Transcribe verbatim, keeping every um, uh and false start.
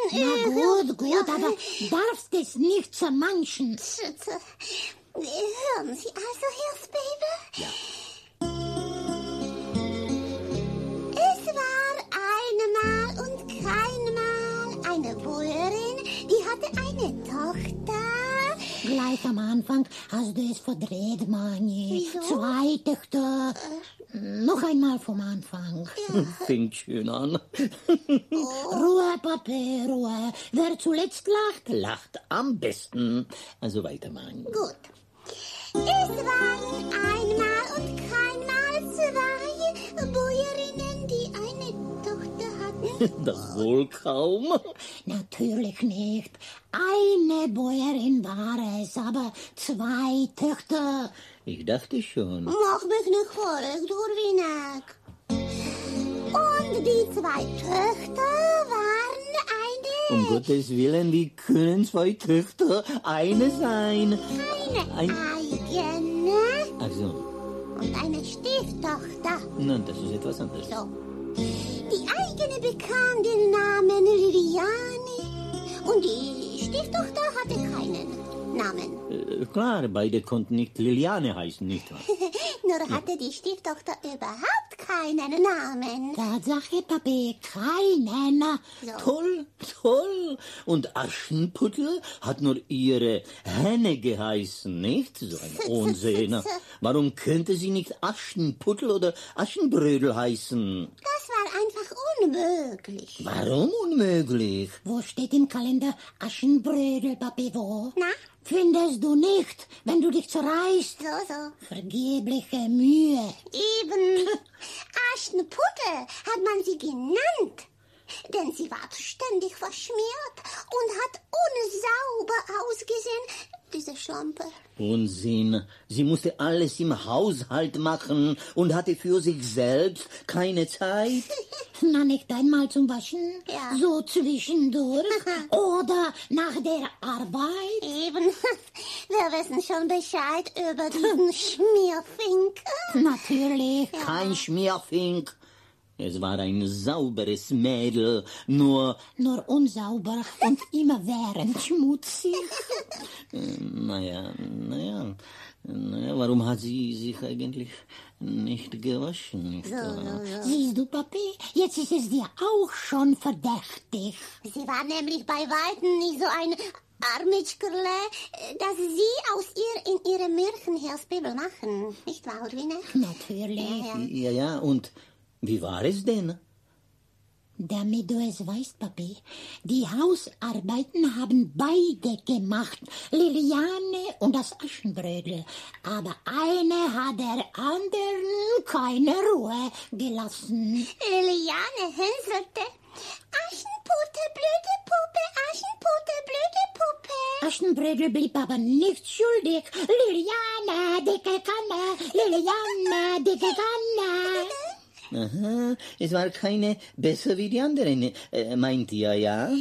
Na gut, gut, aber darfst es nicht zermanschen. Hören Sie also, Hirsbaby? Ja. Es war einmal und keinmal eine Bäuerin, die hatte eine Tochter. Gleich am Anfang hast du es verdreht, Mani. Wieso? Zwei Töchter. Noch einmal vom Anfang. Fängt schön an. Ruhe, Papi, Ruhe. Wer zuletzt lacht, Lacht am besten. Also weiter, Mann. Gut. Es waren einmal und keinmal zwei Bäuerinnen, die eine Tochter hatten. Das wohl kaum. natürlich nicht. Eine Bäuerin war es, aber zwei Töchter. Ich dachte schon. Mach mich nicht verrückt, Urwinek. Und die zwei Töchter waren eine... Um Gottes Willen, wie können zwei Töchter eine sein? Eine Ein- eigene Ach so, und eine Stieftochter. na, das ist etwas anderes. So. Die eigene bekam den Namen Liliane und die Stieftochter hatte keinen Namen. Äh, klar, beide konnten nicht Liliane heißen, nicht wahr? Nur hatte die Stieftochter überhaupt keinen Namen. Tatsache, Papi, keinen. So. Toll, toll. Und Aschenputtel hat nur ihre Henne geheißen, nicht? So ein Unsinn. Warum könnte sie nicht Aschenputtel oder Aschenbrödel heißen? Das war einfach unmöglich. Warum unmöglich? Wo steht im Kalender Aschenbrödel, Papi, wo? Na? Findest du nicht, wenn du dich zerreißt? So, so. Vergebliche Mühe. Eben. Aschenputtel hat man sie genannt. Denn sie war ständig verschmiert und hat unsauber ausgesehen, diese Schlampe. Unsinn. Sie musste alles im Haushalt machen und hatte für sich selbst keine Zeit. Na, nicht einmal zum Waschen? Ja. So zwischendurch? Oder nach der Arbeit? Eben. Wir wissen schon Bescheid über diesen Schmierfink. Natürlich. Kein Schmierfink. Es war ein sauberes Mädel, nur, Nur unsauber und immerwährend schmutzig. naja, naja, naja, warum hat sie sich eigentlich nicht gewaschen, nicht wahr? Siehst du, Papi, jetzt ist es dir auch schon verdächtig. Sie war nämlich bei Weitem nicht so ein Armitschkerle, dass sie aus ihr in ihre Märchenhersbibel machen. Nicht wahr, Ulrine? Natürlich. Ja, Ja, ja. ja, und wie war es denn? Damit du es weißt, Papi, die Hausarbeiten haben beide gemacht, Liliane und das Aschenbrödel. Aber eine hat der anderen keine Ruhe gelassen. Liliane hänselte. Aschenputtel, blöde Puppe, Aschenputtel, blöde Puppe. Aschenbrödel blieb aber nicht schuldig. Liliane, dicke Kanne, Liliane, dicke Kanne. Aha, es war keine besser wie die anderen, äh, meint ihr, ja?